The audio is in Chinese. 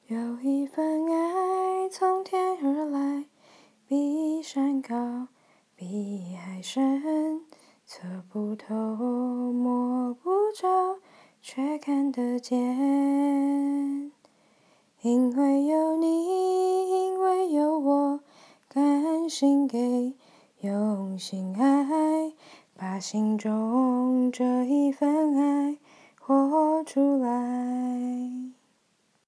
有一份爱从天而来，比山高，比海深，测不透，摸不着，却看得见。因为有你，因为有我，甘心给，用心爱，把心中这一份爱活出来。